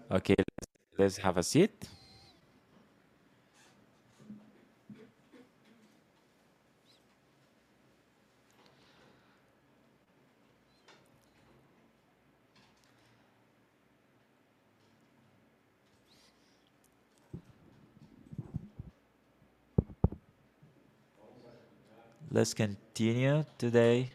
Okay, let's have a seat. Let's continue today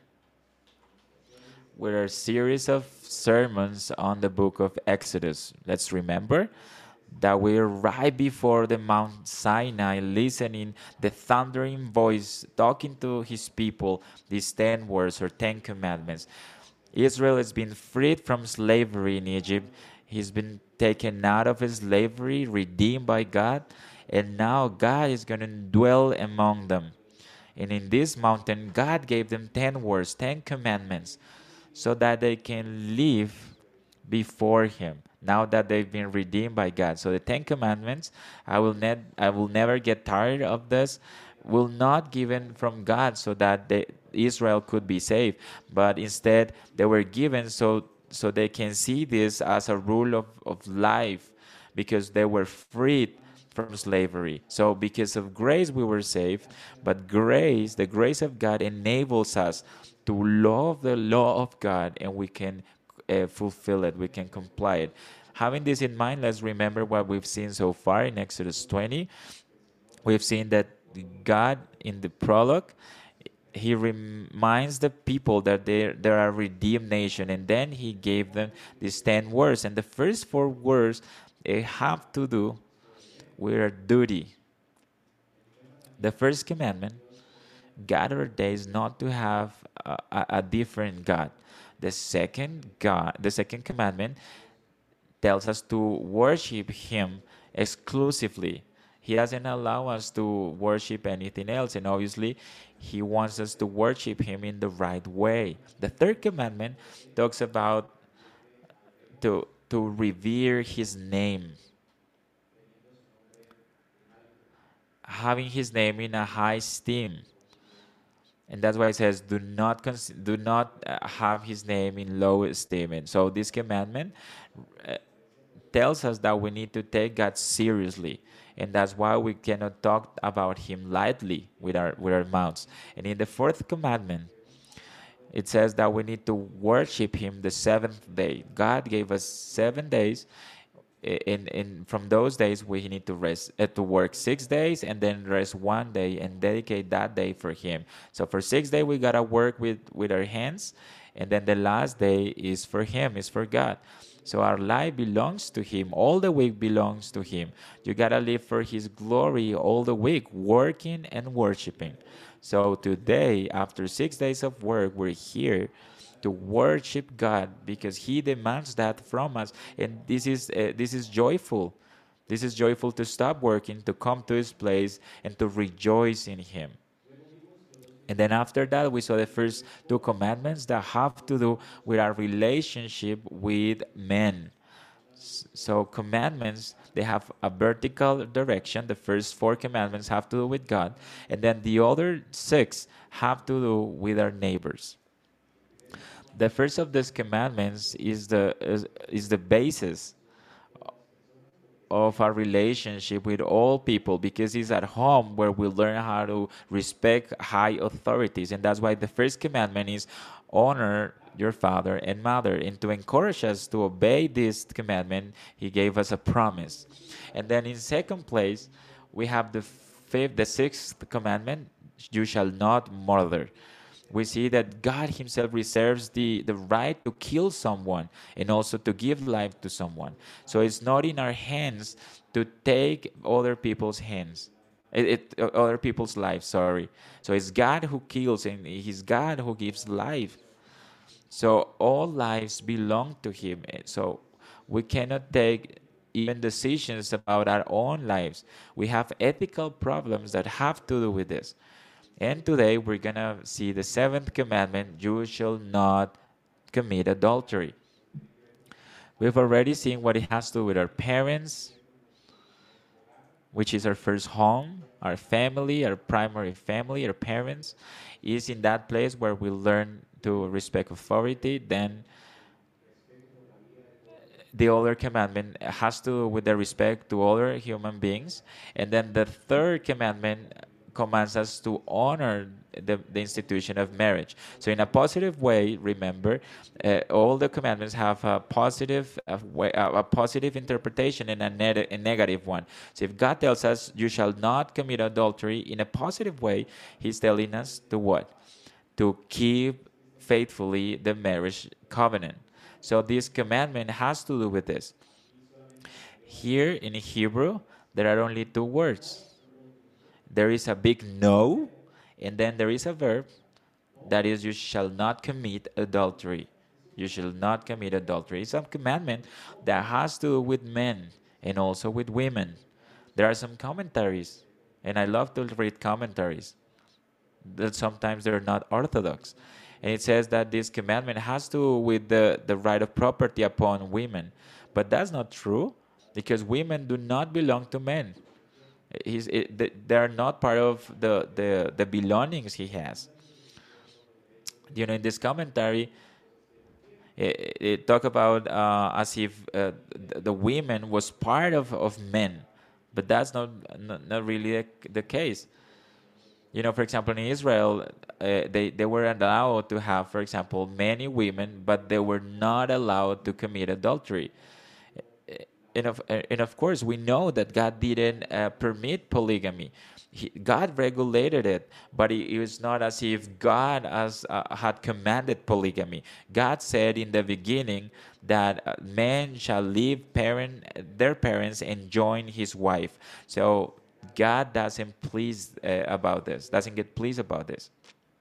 with our series of sermons on the book of Exodus. Let's remember that we're right before the Mount Sinai, listening the thundering voice talking to his people these 10 words or 10 commandments. Israel has been freed from slavery in Egypt. He's been taken out of his slavery, redeemed by God, and now God is going to dwell among them. And in this mountain, God gave them 10 words, 10 commandments, so that they can live before Him. Now that they've been redeemed by God. So the 10 commandments, I will never get tired of this, will not given from God so that Israel could be saved, but instead they were given so they can see this as a rule of life because they were freed from slavery. So because of grace we were saved, but grace, the grace of God enables us to love the law of God and we can fulfill it, we can comply it. Having this in mind, let's remember what we've seen so far in Exodus 20. We've seen that God in the prologue, he reminds the people that they're a redeemed nation, and then he gave them these 10 words. And the first 4 words have to do with our duty. The first commandment, God ordains not to have a different God. The second commandment tells us to worship Him exclusively. He doesn't allow us to worship anything else, and obviously, He wants us to worship Him in the right way. The third commandment talks about to revere His name, having His name in a high esteem. And that's why it says, do not have his name in low esteem. And so this commandment tells us that we need to take God seriously. And that's why we cannot talk about him lightly with our mouths. And in the fourth commandment, it says that we need to worship him the seventh day. God gave us 7 days. In from those days we need to rest, to work 6 days and then rest 1 day and dedicate that day for him. So for 6 days we gotta work with our hands, and then the last day is for him, is for God. So our life belongs to him, all the week belongs to him. You gotta live for his glory all the week, working and worshiping. So today, after 6 days of work, we're here to worship God because He demands that from us, and this is joyful. This is joyful to stop working, to come to His place, and to rejoice in Him. And then after that, we saw the first 2 commandments that have to do with our relationship with men. So commandments, they have a vertical direction. The first 4 commandments have to do with God, and then the other 6 have to do with our neighbors. The first of these commandments is the basis of our relationship with all people because it's at home where we learn how to respect high authorities. And that's why the first commandment is honor your father and mother. And to encourage us to obey this commandment, he gave us a promise. And then in second place, we have the sixth commandment, you shall not murder. We see that God Himself reserves the right to kill someone and also to give life to someone. So it's not in our hands to take other people's hands. Other people's lives, sorry. So it's God who kills and He's God who gives life. So all lives belong to Him. So we cannot take even decisions about our own lives. We have ethical problems that have to do with this. And today we're going to see the seventh commandment, you shall not commit adultery. We've already seen what it has to do with our parents, which is our first home, our family, our primary family, our parents, is in that place where we learn to respect authority. Then The other commandment has to do with the respect to other human beings, and then the third commandment commands us to honor the institution of marriage. So in a positive way, remember, all the commandments have a positive a positive interpretation and a negative one. So if God tells us you shall not commit adultery in a positive way, he's telling us to what? To keep faithfully the marriage covenant. So this commandment has to do with this. Here in Hebrew, there are only two words. There is a big no, and then there is a verb that is, you shall not commit adultery. You shall not commit adultery. It's a commandment that has to do with men and also with women. There are some commentaries, and I love to read commentaries that sometimes they're not orthodox. And it says that this commandment has to do with the right of property upon women. But that's not true because women do not belong to men. They are not part of the belongings he has. In this commentary, it talk about as if the women was part of men, but that's not really the case. For example, in Israel, they were allowed to have, for example, many women, but they were not allowed to commit adultery. And of course, we know that God didn't permit polygamy. God regulated it, but it was not as if God had commanded polygamy. God said in the beginning that men shall leave their parents and join his wife. So God doesn't get pleased about this.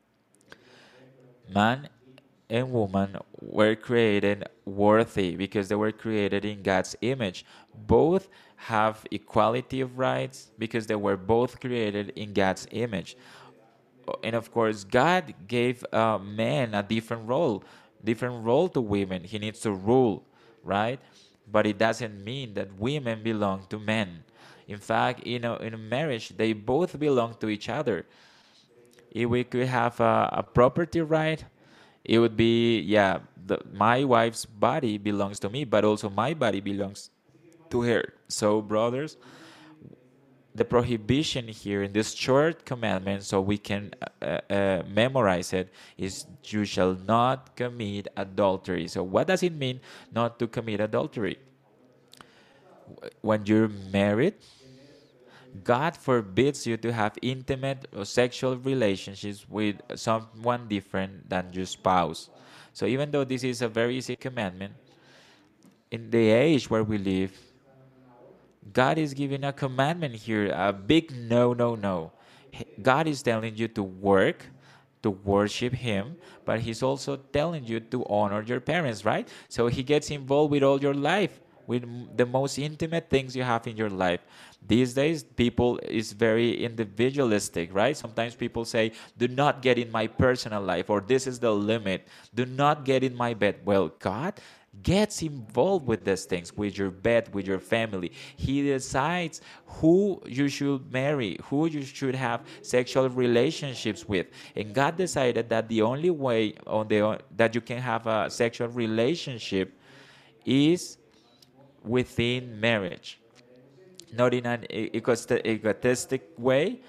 Man and woman were created worthy because they were created in God's image. Both have equality of rights because they were both created in God's image. And of course, God gave men a different role to women. He needs to rule, right? But it doesn't mean that women belong to men. In fact, in a marriage, they both belong to each other. If we could have a property right, it would be, yeah, my wife's body belongs to me, but also my body belongs to her. So, brothers, the prohibition here in this short commandment, so we can memorize it, is you shall not commit adultery. So, what does it mean not to commit adultery? When you're married, God forbids you to have intimate or sexual relationships with someone different than your spouse. So even though this is a very easy commandment, in the age where we live, God is giving a commandment here, a big no, no, no. God is telling you to work, to worship Him, but He's also telling you to honor your parents, right? So He gets involved with all your life, with the most intimate things you have in your life. These days, people is very individualistic, right? Sometimes people say, do not get in my personal life, or this is the limit. Do not get in my bed. Well, God gets involved with these things, with your bed, with your family. He decides who you should marry, who you should have sexual relationships with. And God decided that the only way that you can have a sexual relationship is within marriage, not in an egotistic way,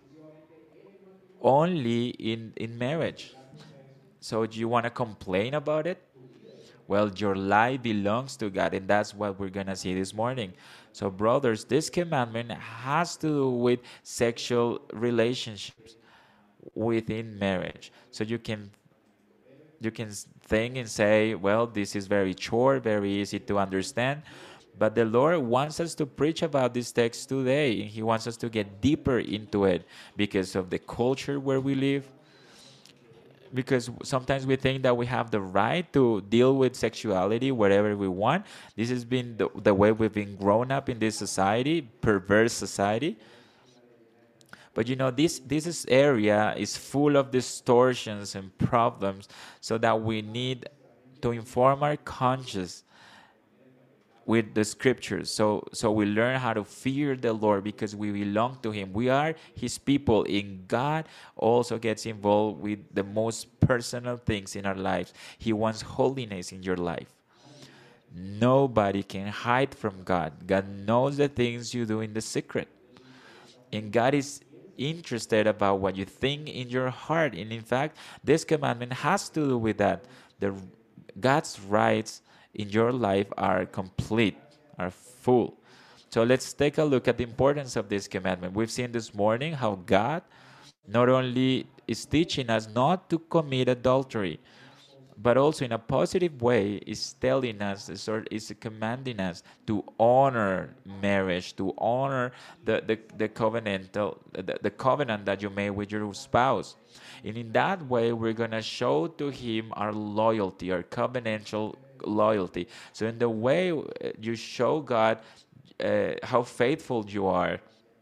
only in marriage. So do you want to complain about it? Well, your life belongs to God, and that's what we're going to see this morning. So, brothers, this commandment has to do with sexual relationships within marriage. So you can think and say, well, this is very short, very easy to understand. But the Lord wants us to preach about this text today. He wants us to get deeper into it because of the culture where we live. Because sometimes we think that we have the right to deal with sexuality wherever we want. This has been the way we've been grown up in this society, perverse society. But this area is full of distortions and problems, so that we need to inform our conscience with the scriptures. So we learn how to fear the Lord because we belong to Him. We are His people, and God also gets involved with the most personal things in our lives. He wants holiness in your life. Nobody can hide from God. God knows the things you do in the secret. And God is interested about what you think in your heart. And in fact, this commandment has to do with that. The God's rights in your life are complete, are full. So let's take a look at the importance of this commandment. We've seen this morning how God not only is teaching us not to commit adultery, but also in a positive way is telling us, is commanding us to honor marriage, to honor the covenantal the covenant that you made with your spouse. And in that way we're gonna show to him our loyalty, our covenantal loyalty. So in the way you show God how faithful you are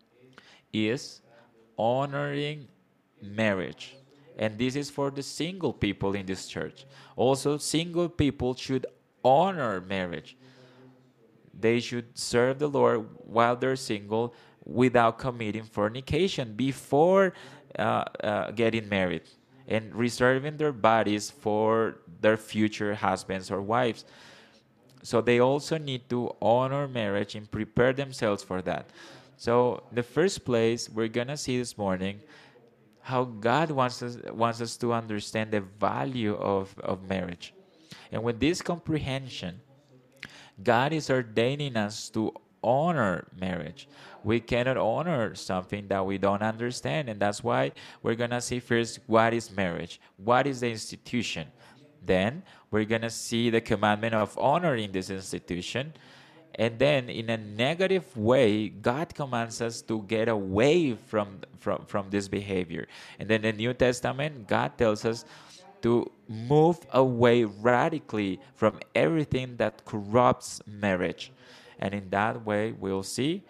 is honoring marriage. And this is for the single people in this church. Also, single people should honor marriage. They should serve the Lord while they're single without committing fornication before getting married and reserving their bodies for their future husbands or wives. So they also need to honor marriage and prepare themselves for that. So, in the first place, we're going to see this morning how God wants us to understand the value of marriage. And with this comprehension, God is ordaining us to honor marriage. We cannot honor something that we don't understand. And that's why we're going to see first what is marriage, what is the institution. Then we're going to see the commandment of honoring this institution. And then, in a negative way, God commands us to get away from this behavior. And then, in the New Testament, God tells us to move away radically from everything that corrupts marriage. And in that way, we'll see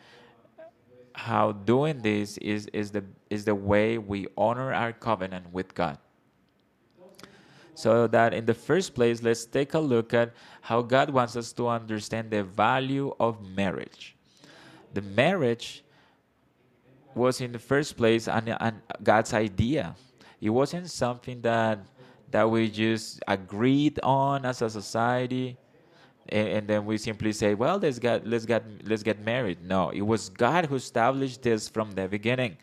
how doing this is the way we honor our covenant with God. So that in the first place, let's take a look at how God wants us to understand the value of marriage. The marriage was in the first place an God's idea. It wasn't something that we just agreed on as a society, and then we simply say, well, let's get married. No, it was God who established this from the beginning.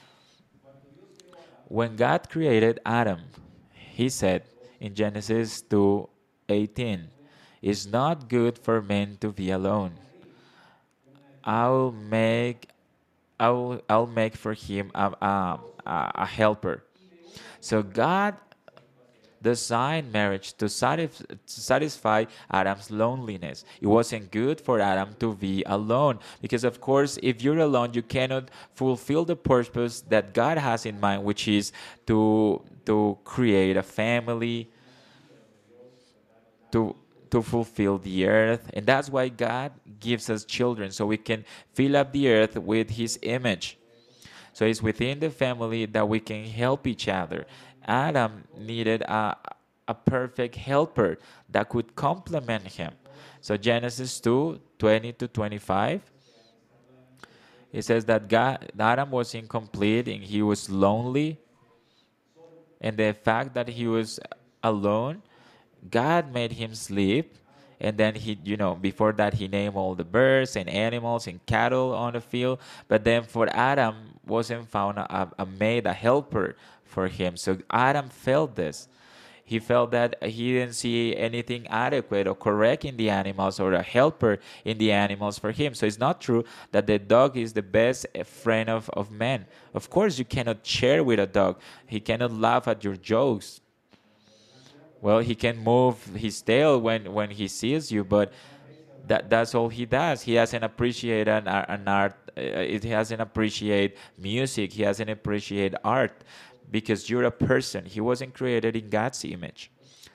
When God created Adam, he said in Genesis 2:18, "It's not good for men to be alone. I'll make I'll make for him a helper." So God designed marriage to satisfy Adam's loneliness. It wasn't good for Adam to be alone because, of course, if you're alone, you cannot fulfill the purpose that God has in mind, which is to create a family, to to fulfill the earth. And that's why God gives us children, so we can fill up the earth with his image. So it's within the family that we can help each other. Adam needed a perfect helper that could complement him. So Genesis 2:20-25, it says that Adam was incomplete and he was lonely. And the fact that he was alone, God made him sleep. And then before that, he named all the birds and animals and cattle on the field. But then for Adam, wasn't found a maid, a helper for him. So Adam felt this. He felt that he didn't see anything adequate or correct in the animals or a helper in the animals for him. So it's not true that the dog is the best friend of man. Of course, you cannot share with a dog. He cannot laugh at your jokes. Well, he can move his tail when he sees you, but that's all he does. He doesn't appreciate an art. He doesn't appreciate music. He doesn't appreciate art because you're a person. He wasn't created in God's image.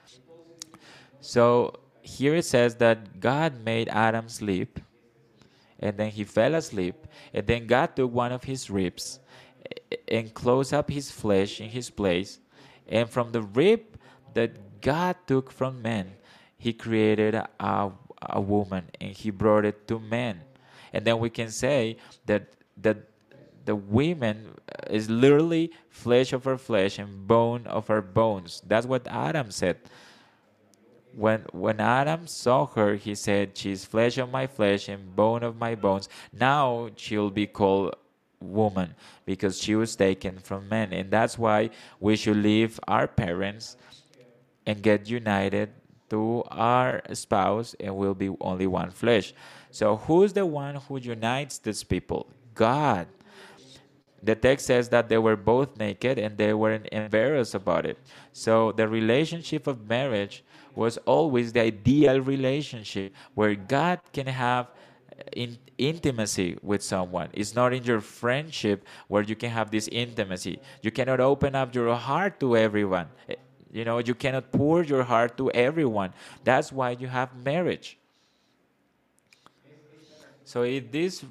So here it says that God made Adam sleep, and then he fell asleep, and then God took one of his ribs and closed up his flesh in his place, and from the rib that God took from man, he created a woman, and he brought it to man. And then we can say that the woman is literally flesh of our flesh and bone of our bones. That's what Adam said. when Adam saw her, he said, "She's flesh of my flesh and bone of my bones." Now she'll be called woman because she was taken from men, and that's why we should leave our parents and get united to our spouse, and we'll be only one flesh. So who's the one who unites these people? God. The text says that they were both naked and they weren't embarrassed about it. So the relationship of marriage was always the ideal relationship where God can have intimacy with someone. It's not in your friendship where you can have this intimacy. You cannot open up your heart to everyone. You know, you cannot pour your heart to everyone. That's why you have marriage. So if this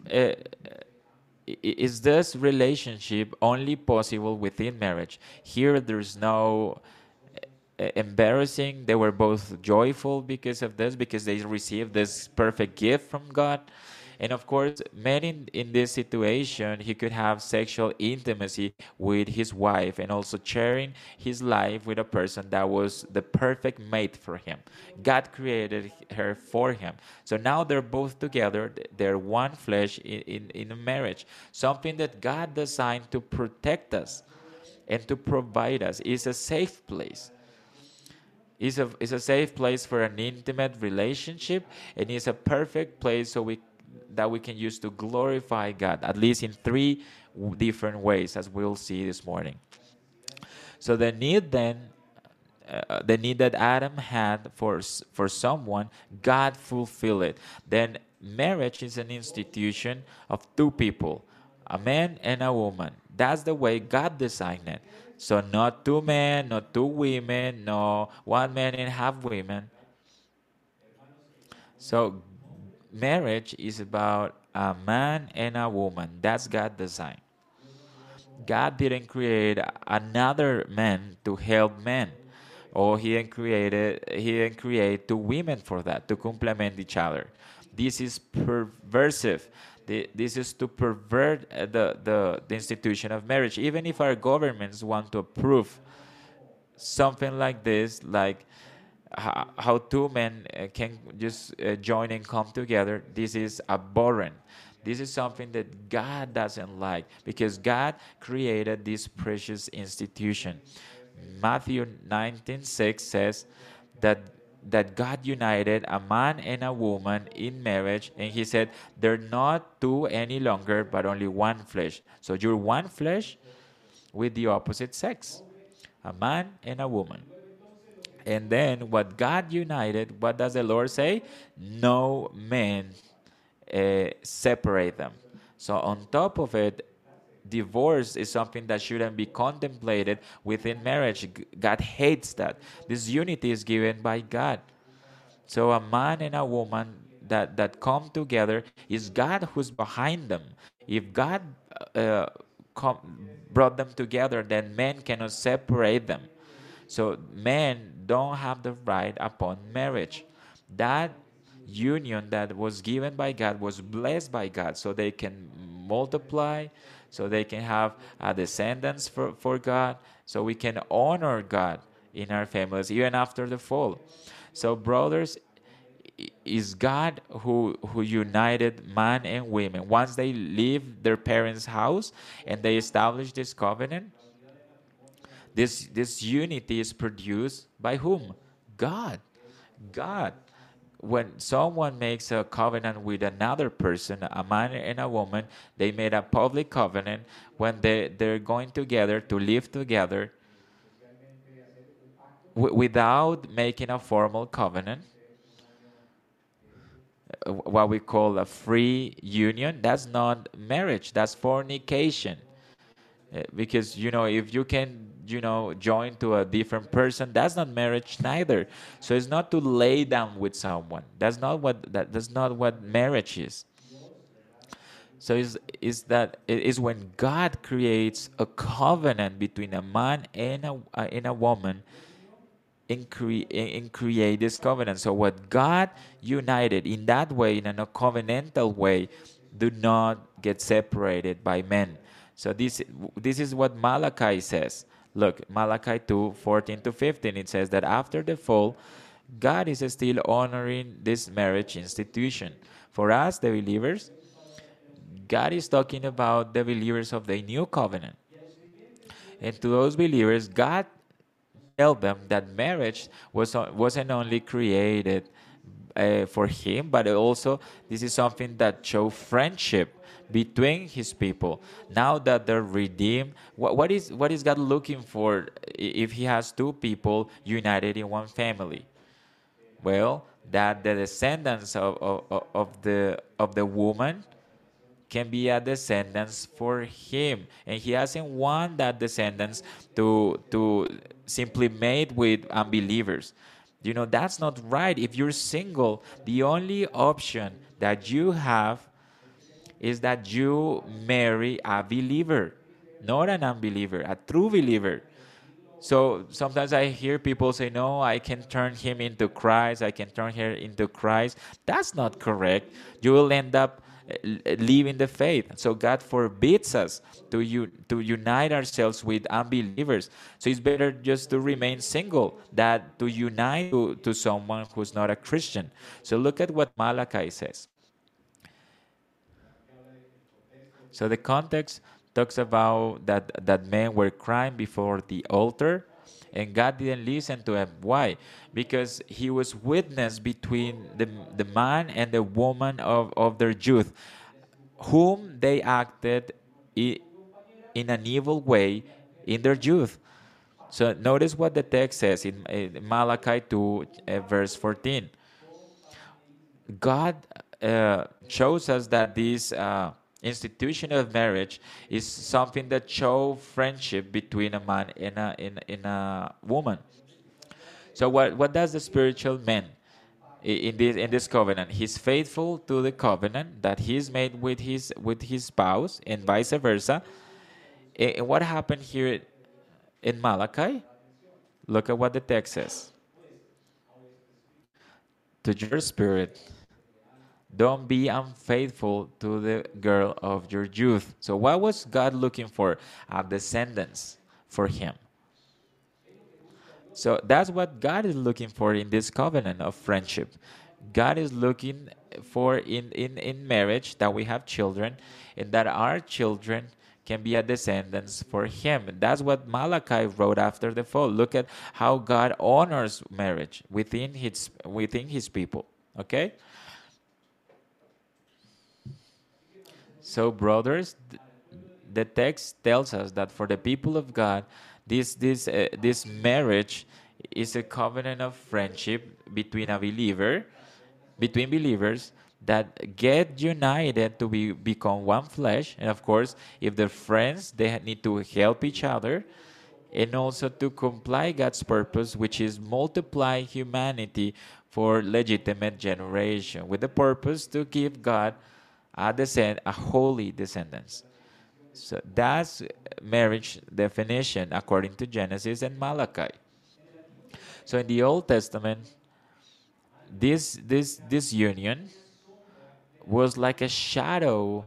is this relationship only possible within marriage? Here, there's no embarrassing. They were both joyful because of this, because they received this perfect gift from God. And of course, man in this situation, he could have sexual intimacy with his wife and also sharing his life with a person that was the perfect mate for him. God created her for him. So now they're both together. They're one flesh in a marriage, something that God designed to protect us and to provide us. Is a safe place. Is a safe place for an intimate relationship, and is a perfect place so we can use to glorify God, at least in three different ways, as we'll see this morning. So the need that Adam had for someone, God fulfilled it. Then marriage is an institution of two people, a man and a woman. That's the way God designed it. So not two men, not two women, no one man and half women. So marriage is about a man and a woman. That's God design. God didn't create another man to help men, or he didn't create two women for that to complement each other. This is perversive. This is to pervert the institution of marriage. Even if our governments want to approve something like this, like how two men can just join and come together, this is abhorrent. This is something that God doesn't like, because God created this precious institution. Matthew 19:6 says that God united a man and a woman in marriage, and he said they're not two any longer but only one flesh. So you're one flesh with the opposite sex, a man and a woman. And then what God united, what does the Lord say? No man separate them. So on top of it, divorce is something that shouldn't be contemplated within marriage. God hates that. This unity is given by God. So a man and a woman that come together, is God who's behind them. If God uh, brought them together, then men cannot separate them. So men don't have the right upon marriage. That union that was given by God was blessed by God, so they can multiply, so they can have descendants for God, so we can honor God in our families even after the fall. So brothers, is God who united man and women. Once they leave their parents' house and they establish this covenant, this unity is produced by whom? God. God. When someone makes a covenant with another person, a man and a woman, they made a public covenant when they're going together to live together without making a formal covenant, what we call a free union. That's not marriage, that's fornication. Because if you can join to a different person, that's not marriage neither. So it's not to lay down with someone. That's not what marriage is. So is that it is when God creates a covenant between a man and a woman, and create this covenant. So what God united in that way, in a covenantal way, do not get separated by men. So this is what Malachi says. Look, Malachi 2:14 to 15, it says that after the fall, God is still honoring this marriage institution. For us, the believers, God is talking about the believers of the new covenant. And to those believers, God tell them that marriage wasn't only created for him, but also this is something that show friendship between his people. Now that they're redeemed, what is God looking for if he has two people united in one family? Well, that the descendants of the woman can be a descendants for him, and he hasn't want that descendants to simply mate with unbelievers. That's not right. If you're single, the only option that you have is that you marry a believer, not an unbeliever, a true believer. So sometimes I hear people say, no, I can turn him into Christ, I can turn her into Christ. That's not correct. You will end up leaving the faith. So God forbids us to unite ourselves with unbelievers. So it's better just to remain single than to unite to someone who's not a Christian. So look at what Malachi says. So the context talks about that men were crying before the altar, and God didn't listen to him. Why? Because he was witness between the man and the woman of their youth, whom they acted in an evil way in their youth. So notice what the text says in Malachi 2, verse 14. God shows us that this institution of marriage is something that show friendship between a man and a woman. So what does the spiritual man in this covenant? He's faithful to the covenant that he's made with his spouse, and vice versa. And what happened here in Malachi? Look at what the text says. To your spirit, don't be unfaithful to the girl of your youth. So, what was God looking for? A descendants for him. So, that's what God is looking for in this covenant of friendship. God is looking for in marriage that we have children, and that our children can be a descendants for him. That's what Malachi wrote after the fall. Look at how God honors marriage within his people. Okay? So, brothers, the text tells us that for the people of God, this marriage is a covenant of friendship between believers that get united to become one flesh. And of course, if they're friends, they need to help each other, and also to comply God's purpose, which is multiply humanity for legitimate generation, with the purpose to give God a holy descendants. So that's marriage definition according to Genesis and Malachi. So in the Old Testament, this union was like a shadow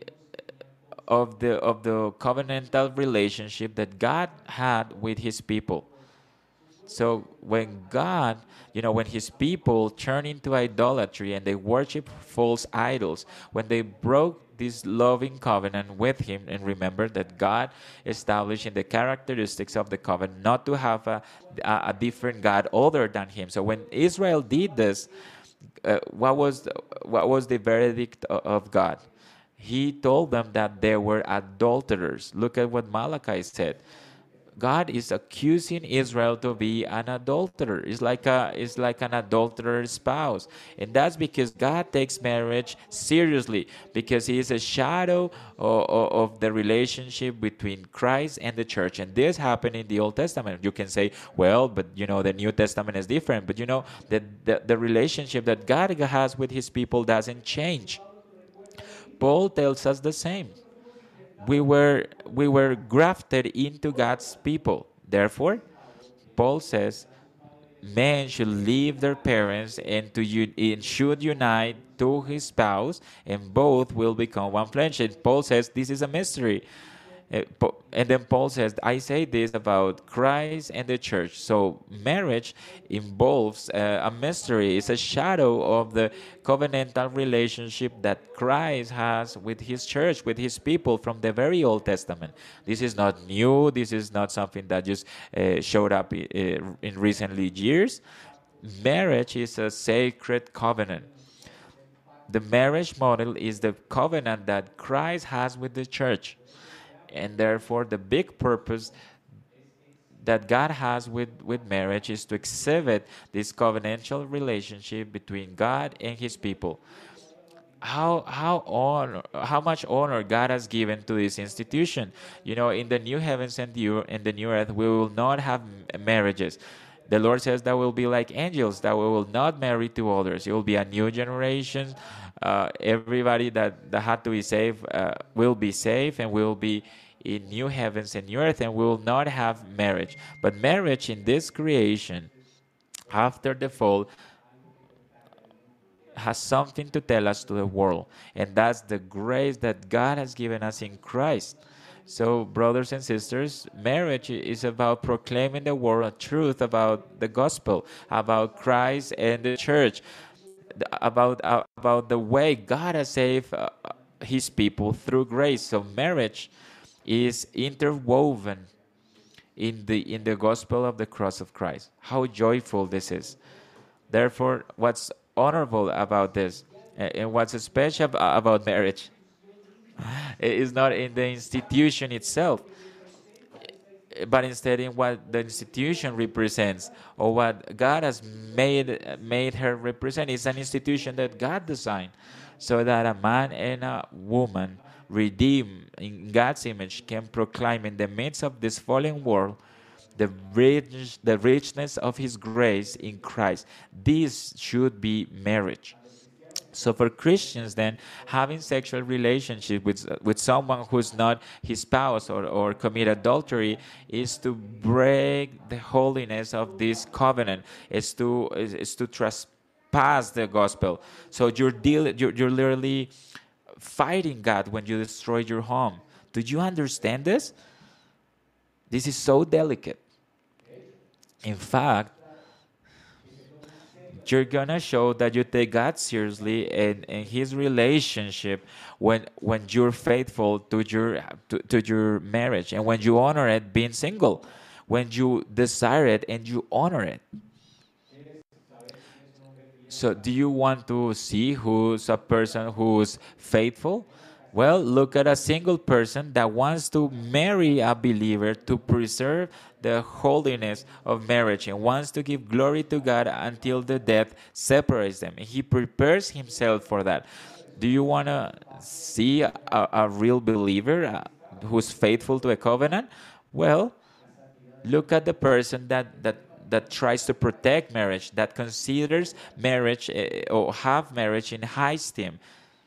of the covenantal relationship that God had with his people. So when his people turned into idolatry and they worship false idols, when they broke this loving covenant with him, and remember that God established in the characteristics of the covenant not to have a different God other than him. So when Israel did this, what was the verdict of God? He told them that they were adulterers. Look at what Malachi said. God is accusing Israel to be an adulterer. It's like an adulterer's spouse. And that's because God takes marriage seriously, because he is a shadow of the relationship between Christ and the church. And this happened in the Old Testament. You can say, well, but the New Testament is different. But the relationship that God has with his people doesn't change. Paul tells us the same. We were grafted into God's people. Therefore, Paul says, men should leave their parents and should unite to his spouse, and both will become one flesh. And Paul says this is a mystery. And then Paul says, I say this about Christ and the church. So marriage involves a mystery, it's a shadow of the covenantal relationship that Christ has with his church, with his people from the very Old Testament. This is not new, this is not something that just showed up in recently years. Marriage is a sacred covenant. The marriage model is the covenant that Christ has with the church. And therefore, the big purpose that God has with marriage is to exhibit this covenantal relationship between God and his people. How much honor God has given to this institution. You know, in the new heavens and the new earth, we will not have marriages. The Lord says that we'll be like angels, that we will not marry to others. It will be a new generation. Everybody that had to be saved will be saved, and will be in new heavens and new earth, and we will not have marriage. But marriage in this creation, after the fall, has something to tell us to the world, and that's the grace that God has given us in Christ. So, brothers and sisters, marriage is about proclaiming the world a truth about the gospel, about Christ and the church, about the way God has saved His people through grace. So, marriage is interwoven in the gospel of the cross of Christ. How joyful this is! Therefore, what's honorable about this, and what's special about marriage, is not in the institution itself, but instead in what the institution represents, or what God has made her represent. It's an institution that God designed, so that a man and a woman redeemed in God's image can proclaim in the midst of this fallen world the richness of His grace in Christ. This should be marriage. So for Christians, then, having sexual relationship with someone who's not his spouse, or commit adultery, is to break the holiness of this covenant. Is to trespass the gospel. So you're literally fighting God when you destroy your home. Do you understand this? This is so delicate. In fact, you're gonna show that you take God seriously and His relationship when you're faithful to your marriage, and when you honor it being single, when you desire it and you honor it. So, do you want to see who's a person who's faithful? Well, look at a single person that wants to marry a believer to preserve the holiness of marriage, and wants to give glory to God until the death separates them. And he prepares himself for that. Do you want to see a real believer who's faithful to a covenant? Well, look at the person that tries to protect marriage, that considers marriage or have marriage in high esteem.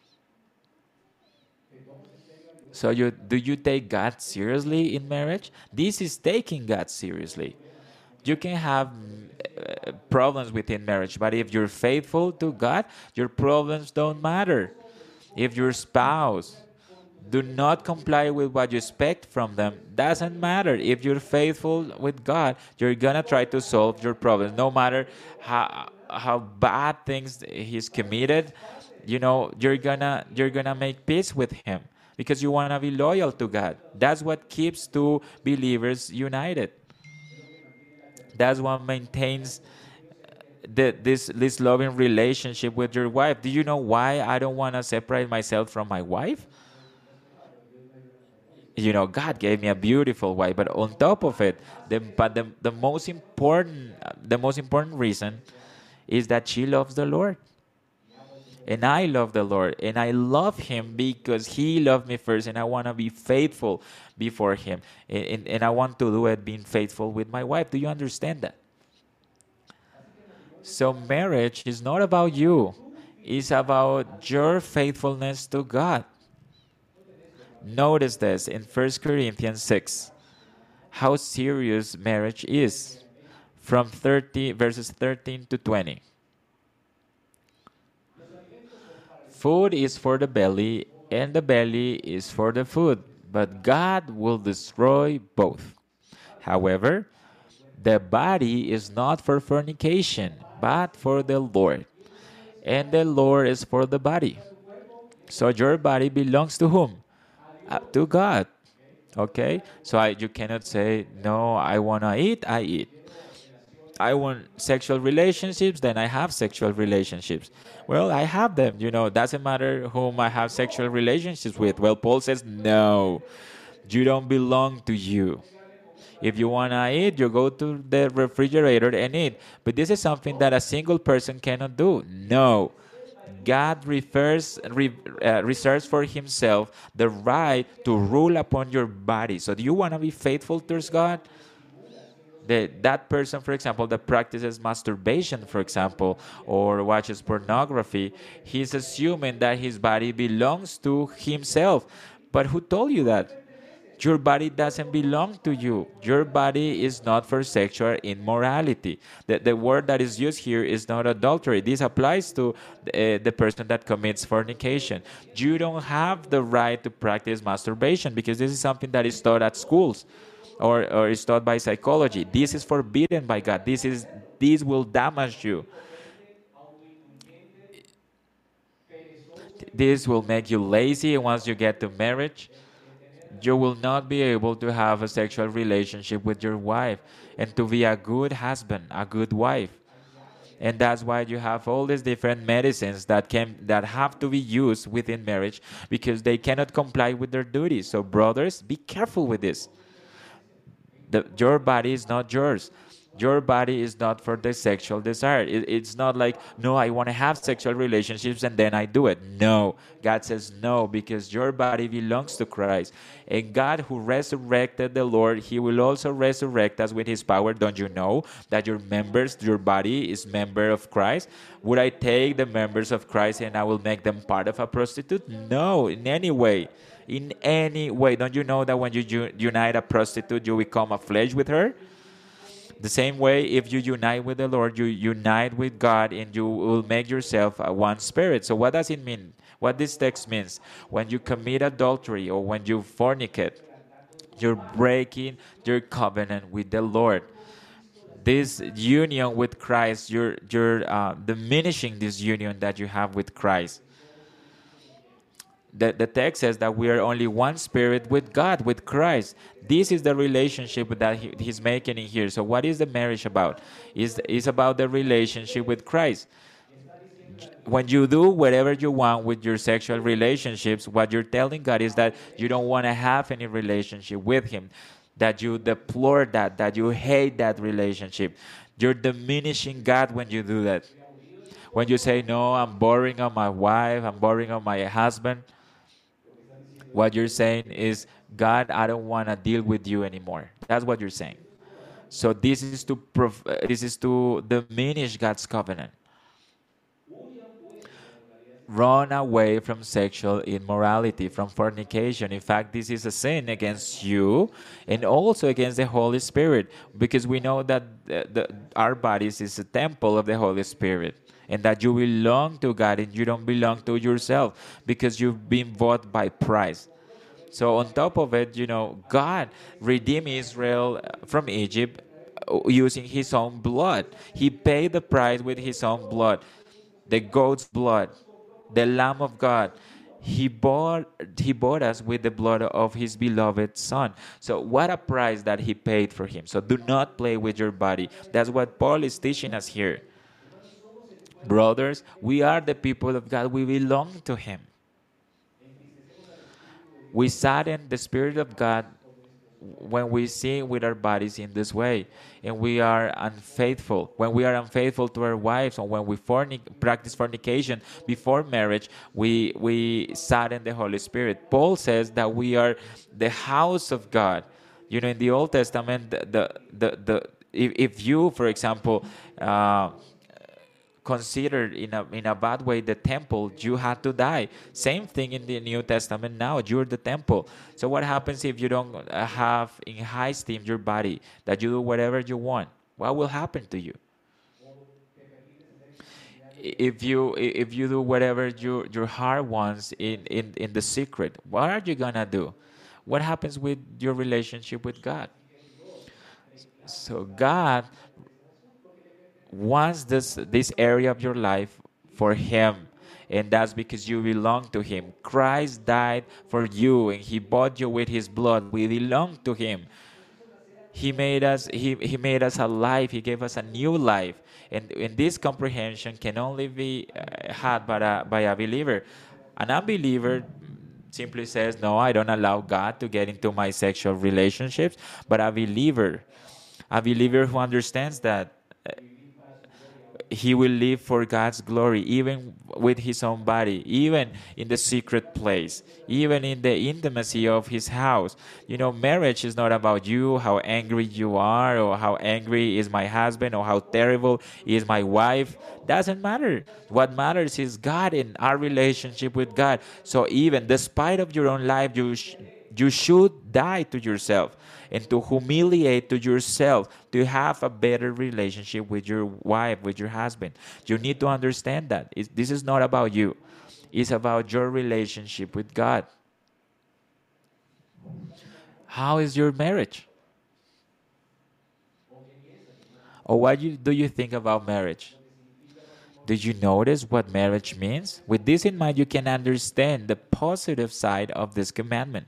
So do you take God seriously in marriage? This is taking God seriously. You can have problems within marriage, but if you're faithful to God, your problems don't matter. If your spouse do not comply with what you expect from them, doesn't matter. If you're faithful with God, you're gonna try to solve your problems, no matter how bad things he's committed. You're gonna make peace with him, because you wanna be loyal to God. That's what keeps two believers united. That's what maintains this loving relationship with your wife. Do you know why I don't want to separate myself from my wife? God gave me a beautiful wife, but on top of it, the most important reason is that she loves the Lord, and I love the Lord, and I love Him because He loved me first, and I want to be faithful before Him, and I want to do it being faithful with my wife. Do you understand that? So marriage is not about you; it's about your faithfulness to God. Notice this in 1 Corinthians 6, how serious marriage is, from verses 13 to 20. Food is for the belly, and the belly is for the food, but God will destroy both. However, the body is not for fornication, but for the Lord, and the Lord is for the body. So your body belongs to whom? To God. Okay? So you cannot say, no, I want to eat, I eat. I want sexual relationships, then I have sexual relationships. Well, I have them. Doesn't matter whom I have sexual relationships with. Well, Paul says, no, you don't belong to you. If you want to eat, you go to the refrigerator and eat. But this is something that a single person cannot do. No. God reserves for himself the right to rule upon your body. So do you want to be faithful towards God? That person, for example, that practices masturbation, for example, or watches pornography, he's assuming that his body belongs to himself. But who told you that? Your body doesn't belong to you. Your body is not for sexual immorality. The word that is used here is not adultery. This applies to the person that commits fornication. You don't have the right to practice masturbation because this is something that is taught at schools or is taught by psychology. This is forbidden by God. This will damage you. This will make you lazy once you get to marriage. You will not be able to have a sexual relationship with your wife and to be a good husband, a good wife. And that's why you have all these different medicines that have to be used within marriage because they cannot comply with their duties. So brothers, be careful with this. Your body is not yours. Your body is not for the sexual desire. It's not like, no, I want to have sexual relationships and then I do it. No. God says no because your body belongs to Christ. And God who resurrected the Lord, he will also resurrect us with his power. Don't you know that your body is member of Christ? Would I take the members of Christ and I will make them part of a prostitute? No, in any way. In any way. Don't you know that when you unite a prostitute, you become a flesh with her? The same way, if you unite with the Lord, you unite with God and you will make yourself a one spirit. So what does it mean? What this text means? When you commit adultery or when you fornicate, you're breaking your covenant with the Lord. This union with Christ, you're diminishing this union that you have with Christ. The text says that we are only one spirit with God, with Christ. This is the relationship that he's making in here. So what is the marriage about? It's about the relationship with Christ. When you do whatever you want with your sexual relationships, what you're telling God is that you don't want to have any relationship with him, that you deplore that you hate that relationship. You're diminishing God when you do that. When you say, no, I'm boring on my wife, I'm boring on my husband, what you're saying is, God, I don't want to deal with you anymore. That's what you're saying. So this is to diminish God's covenant. Run away from sexual immorality, from fornication. In fact, this is a sin against you and also against the Holy Spirit, because we know that our bodies is a temple of the Holy Spirit, and that you belong to God and you don't belong to yourself because you've been bought by price. So on top of it, God redeemed Israel from Egypt using his own blood. He paid the price with his own blood, the goat's blood, the Lamb of God. He bought us with the blood of his beloved Son. So what a price that he paid for him. So do not play with your body. That's what Paul is teaching us here. Brothers, we are the people of God. We belong to him. We sadden the Spirit of God when we sin with our bodies in this way, and we are unfaithful. When we are unfaithful to our wives, or when we practice fornication before marriage, we sadden the Holy Spirit. Paul says that we are the house of God. In the Old Testament, if you, for example, considered in a bad way the temple, you had to die. Same thing in the New Testament now. You're the temple. So what happens if you don't have in high esteem your body, that you do whatever you want? What will happen to you? If you do whatever your heart wants in the secret, what are you gonna do? what happens with your relationship with God? So God wants this area of your life for Him, and that's because you belong to Him. Christ died for you, and He bought you with His blood. We belong to Him. He made us alive. He gave us a new life, and this comprehension can only be had by a believer. An unbeliever simply says, no, I don't allow God to get into my sexual relationships. But a believer who understands that he will live for God's glory, even with his own body, even in the secret place, even in the intimacy of his house. You know, marriage is not about you, how angry you are, or how angry is my husband, or how terrible is my wife. Doesn't matter. What matters is God and our relationship with God. So even despite of your own life, you should die to yourself and to humiliate to yourself to have a better relationship with your wife, with your husband. You need to understand that. This is not about you. It's about your relationship with God. How is your marriage? Or what do you think about marriage? Do you notice what marriage means? With this in mind, you can understand the positive side of this commandment.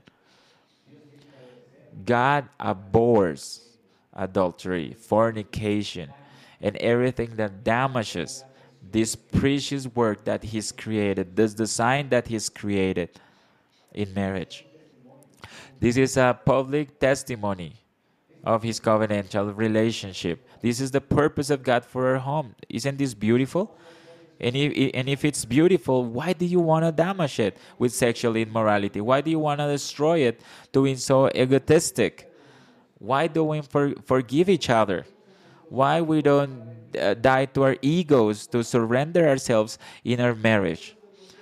God abhors adultery, fornication, and everything that damages this precious work that He's created, this design that He's created in marriage. This is a public testimony of His covenantal relationship. This is the purpose of God for our home. Isn't this beautiful? And if it's beautiful, why do you want to damage it with sexual immorality? Why do you want to destroy it doing so egotistic? Why don't we forgive each other? Why we don't die to our egos to surrender ourselves in our marriage?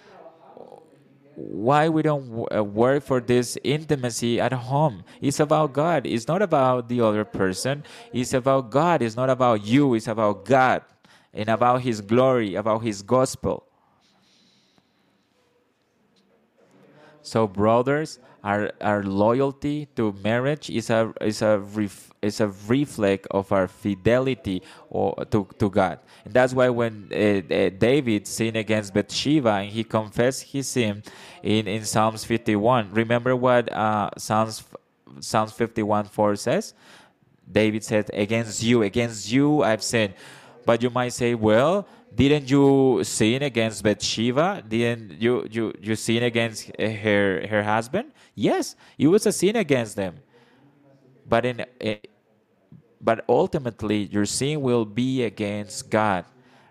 Why we don't work for this intimacy at home? It's about God. It's not about the other person. It's about God. It's not about you. It's about God and about His glory, about His gospel. So, brothers, our loyalty to marriage is a reflex of our fidelity to God. And that's why when David sinned against Bathsheba and he confessed his sin in Psalms 51, remember what Psalms 51:4 says? David said, against you I've sinned. But you might say, well, didn't you sin against Bathsheba? Didn't you sin against her husband? Yes, it was a sin against them. But but ultimately, your sin will be against God.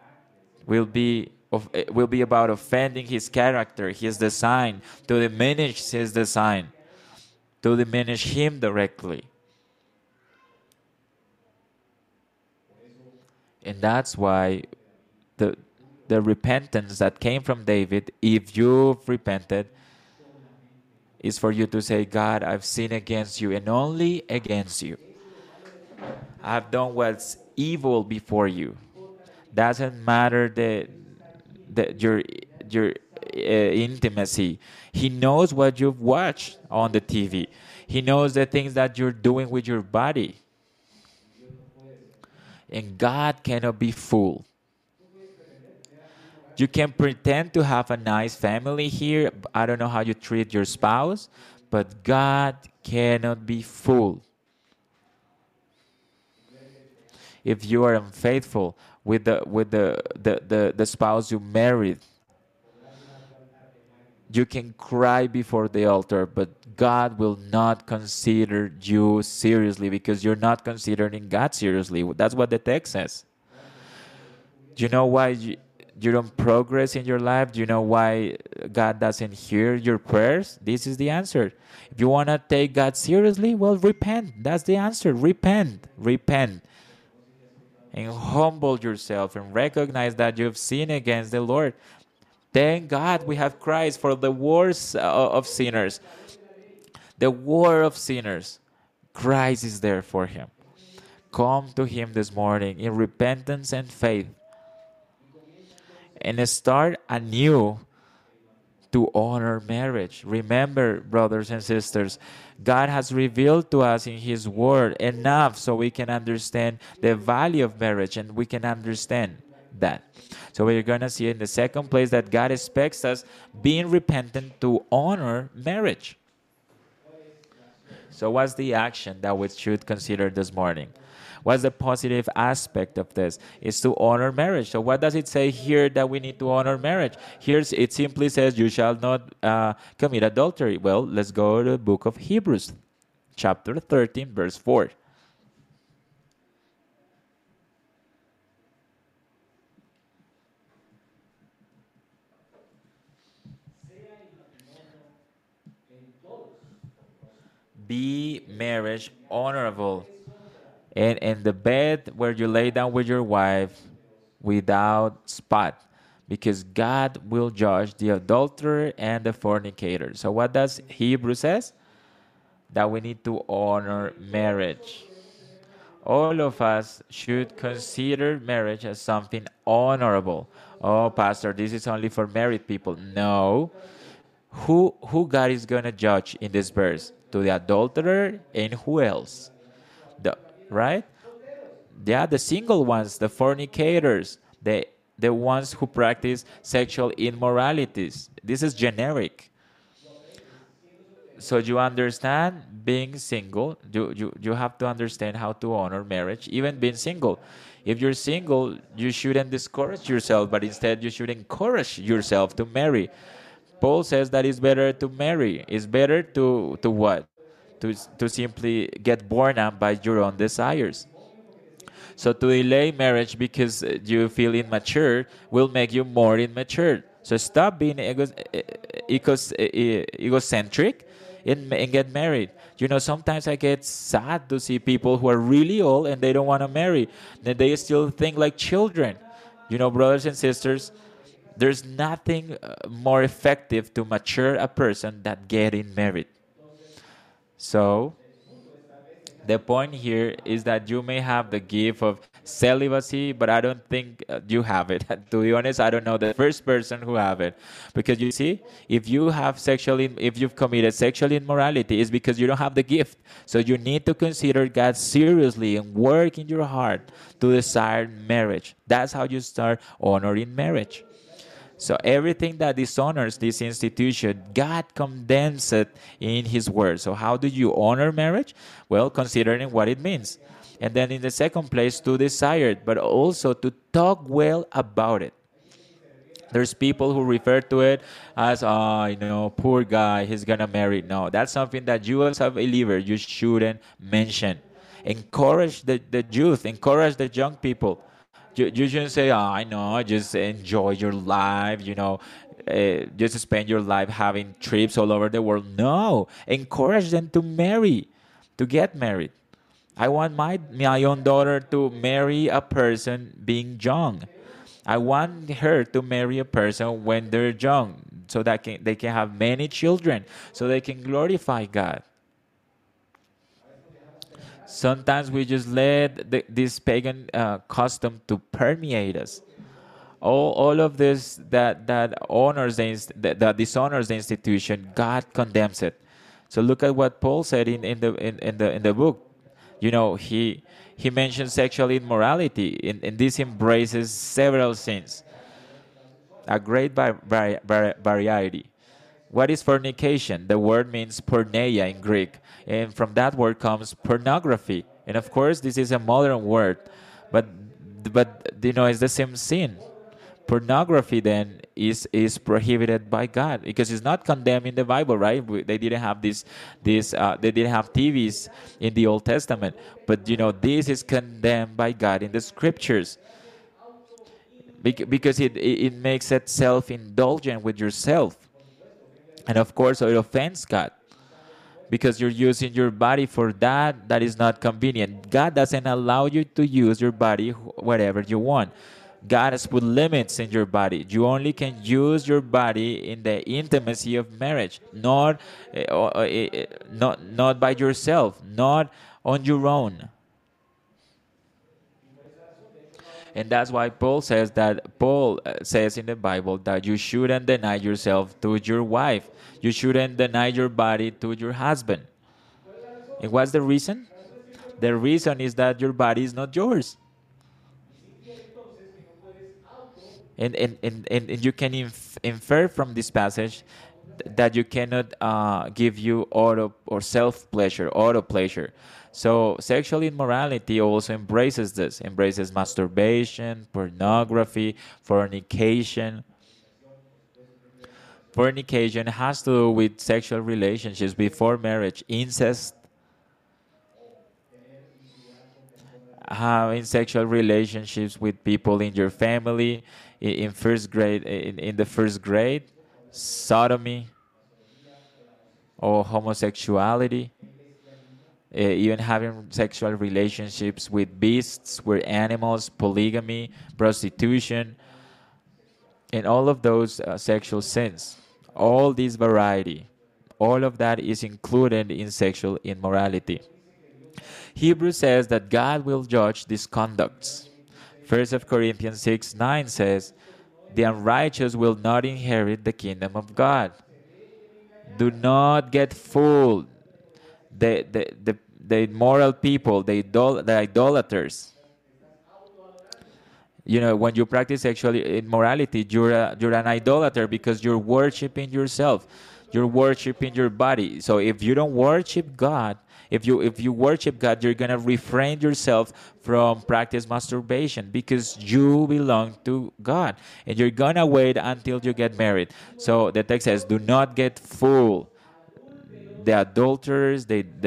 Will be about offending His character, His design, to diminish His design, to diminish Him directly. And that's why the the repentance that came from David, if you've repented, is for you to say, God, I've sinned against you and only against you. I've done what's evil before you. Doesn't matter your intimacy. He knows what you've watched on the TV. He knows the things that you're doing with your body. And God cannot be fooled. You can pretend to have a nice family here. I don't know how you treat your spouse, but God cannot be fooled. If you are unfaithful with the spouse you married, you can cry before the altar, but God will not consider you seriously because you're not considering God seriously. That's what the text says. Do you know why you don't progress in your life? Do you know why God doesn't hear your prayers? This is the answer. If you want to take God seriously, well, repent. That's the answer. Repent. Repent. And humble yourself and recognize that you've sinned against the Lord. Thank God we have Christ for the worst of sinners. The worst of sinners. Christ is there for him. Come to Him this morning in repentance and faith. And start anew to honor marriage. Remember, brothers and sisters, God has revealed to us in His Word enough so we can understand the value of marriage and we can understand that. So we're going to see in the second place that God expects us being repentant to honor marriage. So, what's the action that we should consider this morning? What's the positive aspect of this? Is to honor marriage. So, what does it say here that we need to honor marriage? Here it simply says, "You shall not commit adultery." Well, let's go to the book of Hebrews, chapter 13, verse 4. Be marriage honorable, and in the bed where you lay down with your wife without spot, because God will judge the adulterer and the fornicator. So what does Hebrew says? That we need to honor marriage. All of us should consider marriage as something honorable. Oh, pastor, this is only for married people. No. Who God is going to judge in this verse? To the adulterer and who else? The right? Yeah, the single ones, the fornicators, the ones who practice sexual immoralities. This is generic. So you understand being single, you have to understand how to honor marriage, even being single. If you're single, you shouldn't discourage yourself, but instead you should encourage yourself to marry. Paul says that it's better to marry. It's better to what? To simply get born out by your own desires. So to delay marriage because you feel immature will make you more immature. So stop being egocentric and get married. You know, sometimes I get sad to see people who are really old and they don't want to marry. Then they still think like children. You know, brothers and sisters, there's nothing more effective to mature a person than getting married. So the point here is that you may have the gift of celibacy, but I don't think you have it. To be honest, I don't know the first person who have it, because you see, if you have if you've committed sexual immorality, it's because you don't have the gift. So you need to consider God seriously and work in your heart to desire marriage. That's how you start honoring marriage. So everything that dishonors this institution, God condemns it in His Word. So how do you honor marriage? Well, considering what it means. And then in the second place, to desire it, but also to talk well about it. There's people who refer to it as, oh, you know, poor guy, he's going to marry. No, that's something that you as a believer, you shouldn't mention. Encourage the youth, encourage the young people. You shouldn't say, oh, I know, just enjoy your life, you know, just spend your life having trips all over the world. No, encourage them to marry, to get married. I want my own daughter to marry a person being young. I want her to marry a person when they're young, so that they can have many children, so they can glorify God. Sometimes we just let this pagan custom to permeate us. All of this that honors that dishonors the institution, God condemns it. So look at what Paul said in the book. You know, he mentions sexual immorality, and this embraces several sins, a great variety. What is fornication? The word means porneia in Greek, and from that word comes pornography. And of course, this is a modern word, but you know, it's the same sin. Pornography then is prohibited by God because it's not condemned in the Bible, right? They didn't have they didn't have TVs in the Old Testament, but you know, this is condemned by God in the Scriptures because it makes it self-indulgent with yourself. And of course, it offends God because you're using your body for that is not convenient. God doesn't allow you to use your body whatever you want. God has put limits in your body. You only can use your body in the intimacy of marriage, not by yourself, not on your own. And that's why Paul says in the Bible that you shouldn't deny yourself to your wife. You shouldn't deny your body to your husband. And what's the reason? The reason is that your body is not yours. And you can infer from this passage that you cannot give you auto or self pleasure, auto pleasure. So sexual immorality also embraces masturbation, pornography, fornication. Fornication has to do with sexual relationships before marriage, incest, having sexual relationships with people in your family in first grade, in the first grade, sodomy or homosexuality, even having sexual relationships with beasts, with animals, polygamy, prostitution, and all of those sexual sins. All this variety, all of that is included in sexual immorality. Hebrews says that God will judge these conducts. 1 Corinthians 6:9 says, the unrighteous will not inherit the kingdom of God. Do not get fooled. The immoral people, the idolaters. You know, when you practice sexual immorality, you're an idolater because you're worshiping yourself. You're worshiping your body. So if you don't worship God, if you worship God, you're gonna refrain yourself from practice masturbation because you belong to God, and you're gonna wait until you get married. So the text says, "Do not get fooled." The adulterers,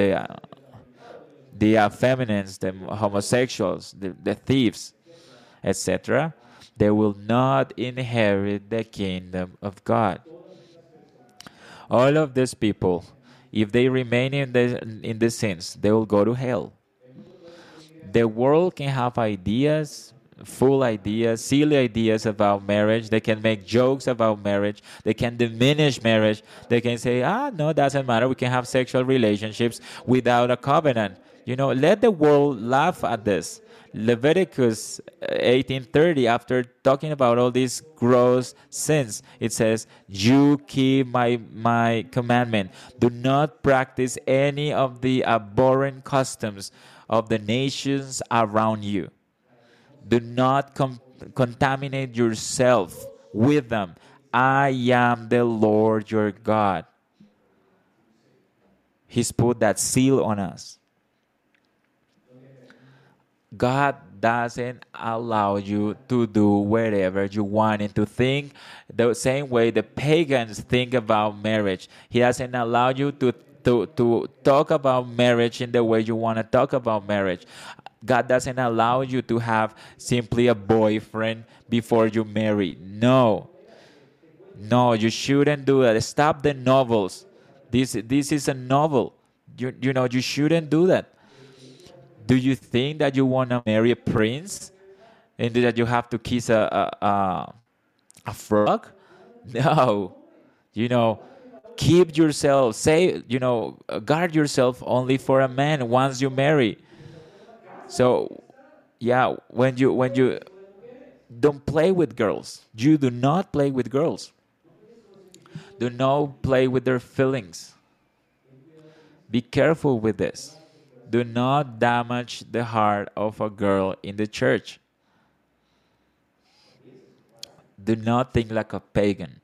the effeminates, the homosexuals, the thieves, etc., they will not inherit the kingdom of God. All of these people, if they remain in the sins, they will go to hell. The world can have ideas, full ideas, silly ideas about marriage. They can make jokes about marriage. They can diminish marriage. They can say, no, doesn't matter. We can have sexual relationships without a covenant. You know, let the world laugh at this. Leviticus 18:30, after talking about all these gross sins, it says, "You keep my commandment. Do not practice any of the abhorrent customs of the nations around you. Do not contaminate yourself with them. I am the Lord your God." He's put that seal on us. God doesn't allow you to do whatever you want and to think the same way the pagans think about marriage. He doesn't allow you to talk about marriage in the way you want to talk about marriage. God doesn't allow you to have simply a boyfriend before you marry. No. No, you shouldn't do that. Stop the novels. This is a novel. You know, you shouldn't do that. Do you think that you want to marry a prince and that you have to kiss a frog? No. You know, keep yourself, guard yourself only for a man once you marry. So, yeah, when you don't play with girls. You do not play with girls. Do not play with their feelings. Be careful with this. Do not damage the heart of a girl in the church. Do not think like a pagan.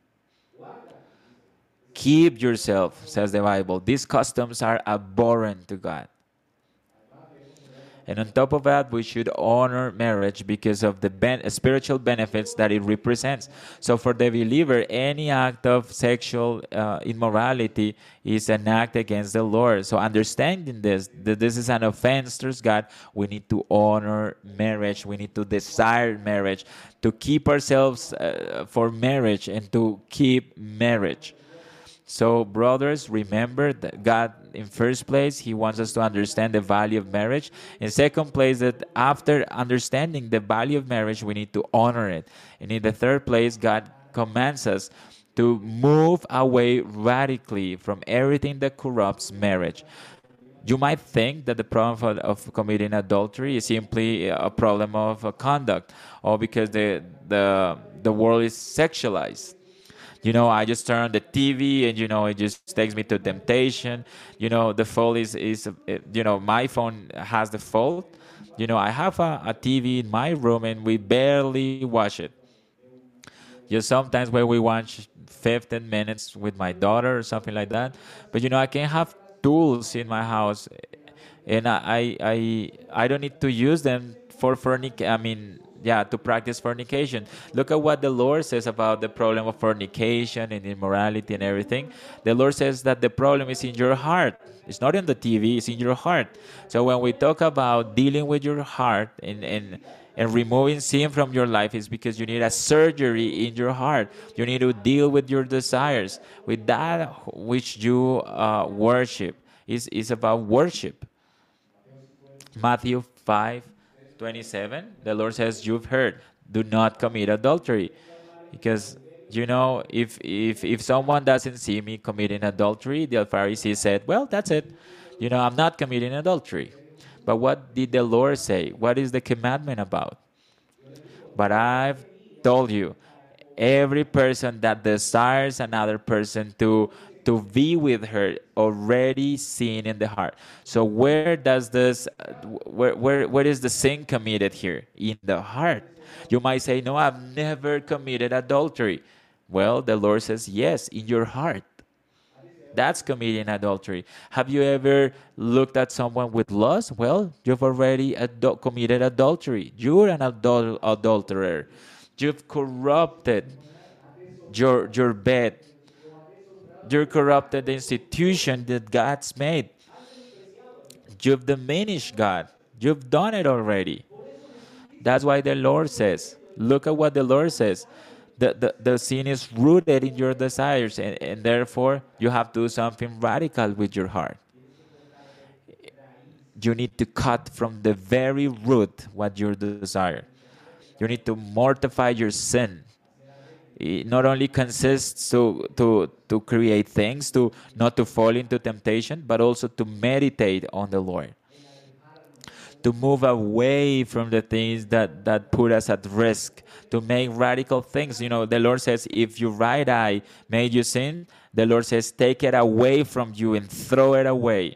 Keep yourself, says the Bible. These customs are abhorrent to God. And on top of that, we should honor marriage because of the spiritual benefits that it represents. So for the believer, any act of sexual immorality is an act against the Lord. So understanding this, that this is an offense towards God, we need to honor marriage. We need to desire marriage, to keep ourselves for marriage and to keep marriage. So, brothers, remember that God, in first place, He wants us to understand the value of marriage. In second place, that after understanding the value of marriage, we need to honor it. And in the third place, God commands us to move away radically from everything that corrupts marriage. You might think that the problem of committing adultery is simply a problem of conduct, or because the world is sexualized. I just turn on the TV, and it just takes me to temptation. The fault is my phone has the fault. I have a TV in my room, and we barely watch it. Just sometimes when we watch 15 minutes with my daughter or something like that. But I can have tools in my house, and I don't need to use them for I mean, yeah, to practice fornication. Look at what the Lord says about the problem of fornication and immorality and everything. The Lord says that the problem is in your heart. It's not in the TV, it's in your heart. So when we talk about dealing with your heart and removing sin from your life, is because you need a surgery in your heart. You need to deal with your desires, with that which you worship. Is about worship. Matthew 5:27, the Lord says, "You've heard, do not commit adultery." Because, if someone doesn't see me committing adultery, the Pharisees said, "Well, that's it. I'm not committing adultery." But what did the Lord say? What is the commandment about? But I've told you, every person that desires another person to be with her already sin in the heart. So where does this where is the sin committed here? In the heart. You might say, "No, I've never committed adultery." Well, the Lord says, yes, in your heart. That's committing adultery. Have you ever looked at someone with lust? Well, you've already committed adultery. You're an adulterer. You've corrupted your bed. You've corrupted the institution that God's made. You've diminished God. You've done it already. That's why the Lord says, look at what the Lord says. The sin is rooted in your desires, and therefore you have to do something radical with your heart. You need to cut from the very root what you desire. You need to mortify your sin. It not only consists to create things, to not to fall into temptation, but also to meditate on the Lord. To move away from the things that put us at risk, to make radical things. The Lord says, if your right eye made you sin, the Lord says, take it away from you and throw it away.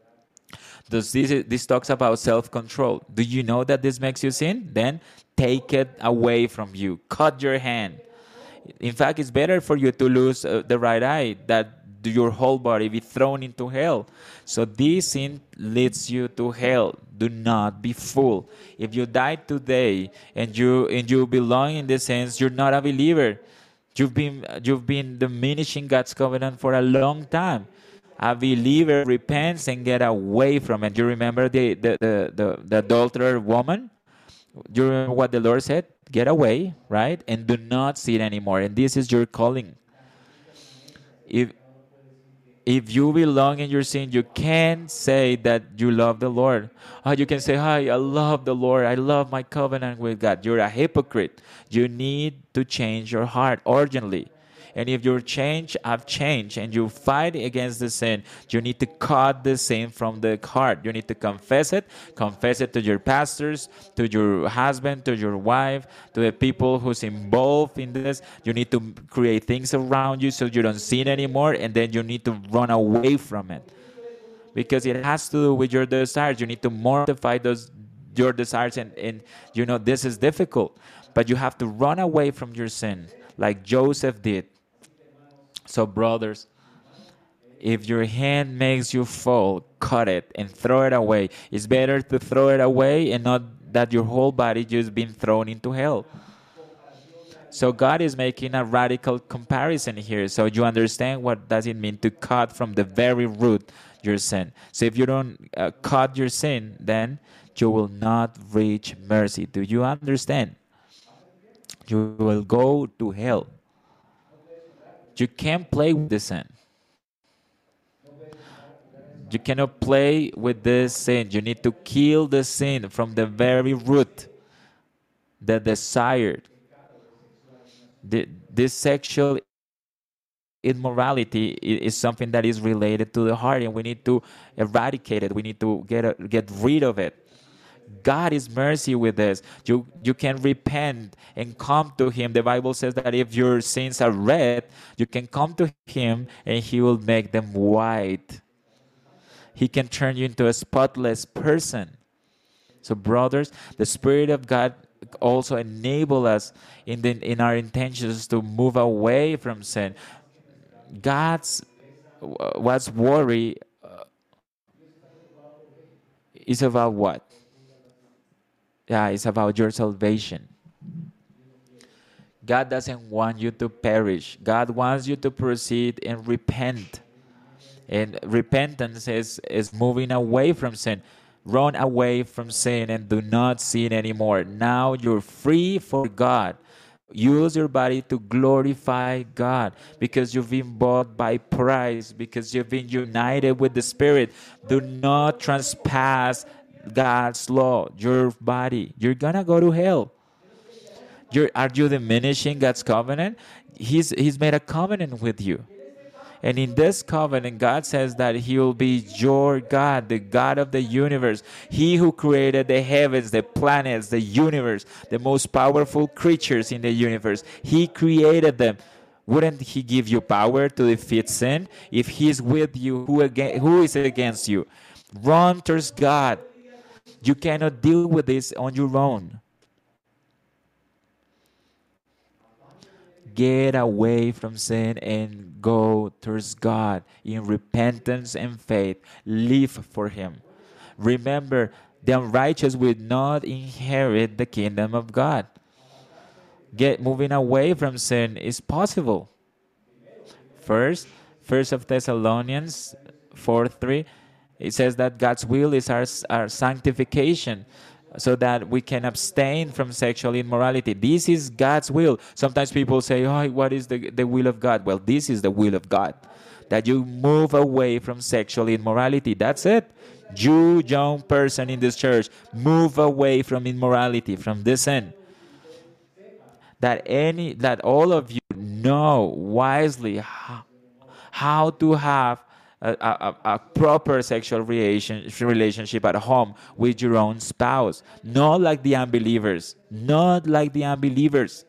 This talks about self-control. Do you know that this makes you sin? Then take it away from you. Cut your hand. In fact, it's better for you to lose the right eye that your whole body be thrown into hell. So this sin leads you to hell. Do not be fooled. If you die today and you belong in the sense, you're not a believer. You've been diminishing God's covenant for a long time. A believer repents and get away from it. You remember the adulterer woman? Do you remember what the Lord said? Get away, right? And do not sin anymore. And this is your calling. If if you belong in your sin, you can't say that you love the Lord. You can say, "Hi, I love the Lord. I love my covenant with God." You're a hypocrite. You need to change your heart urgently. And if you have changed, and you fight against the sin, you need to cut the sin from the heart. You need to confess it to your pastors, to your husband, to your wife, to the people who's involved in this. You need to create things around you so you don't sin anymore, and then you need to run away from it. Because it has to do with your desires. You need to mortify your desires, and this is difficult. But you have to run away from your sin, like Joseph did. So, brothers, if your hand makes you fall, cut it and throw it away. It's better to throw it away and not that your whole body just been thrown into hell. So God is making a radical comparison here. So you understand what does it mean to cut from the very root your sin. So if you don't cut your sin, then you will not reach mercy. Do you understand? You will go to hell. You can't play with the sin. You cannot play with this sin. You need to kill the sin from the very root, the desired. This sexual immorality is something that is related to the heart, and we need to eradicate it. We need to get rid of it. God is mercy with this. You can repent and come to Him. The Bible says that if your sins are red, you can come to Him and He will make them white. He can turn you into a spotless person. So, brothers, the Spirit of God also enable us in our intentions to move away from sin. God's what's worry is about what? Yeah, it's about your salvation. God doesn't want you to perish. God wants you to proceed and repent. And repentance is moving away from sin. Run away from sin and do not sin anymore. Now you're free for God. Use your body to glorify God because you've been bought by price, because you've been united with the Spirit. Do not trespass God's law, your body. You're gonna go to hell. Are you diminishing God's covenant? He's made a covenant with you. And in this covenant, God says that He will be your God, the God of the universe. He who created the heavens, the planets, the universe, the most powerful creatures in the universe. He created them. Wouldn't He give you power to defeat sin? If He's with you, who is against you? Run towards God. You cannot deal with this on your own. Get away from sin and go towards God in repentance and faith. Live for Him. Remember, the unrighteous will not inherit the kingdom of God. Moving away from sin is possible. First of Thessalonians 4:3, it says that God's will is our sanctification, so that we can abstain from sexual immorality. This is God's will. Sometimes people say, oh, what is the will of God? Well, this is the will of God, that you move away from sexual immorality. That's it. You, young person in this church, move away from immorality, from this sin. That all of you know wisely how to have a proper sexual relationship at home with your own spouse. Not like the unbelievers. Not like the unbelievers.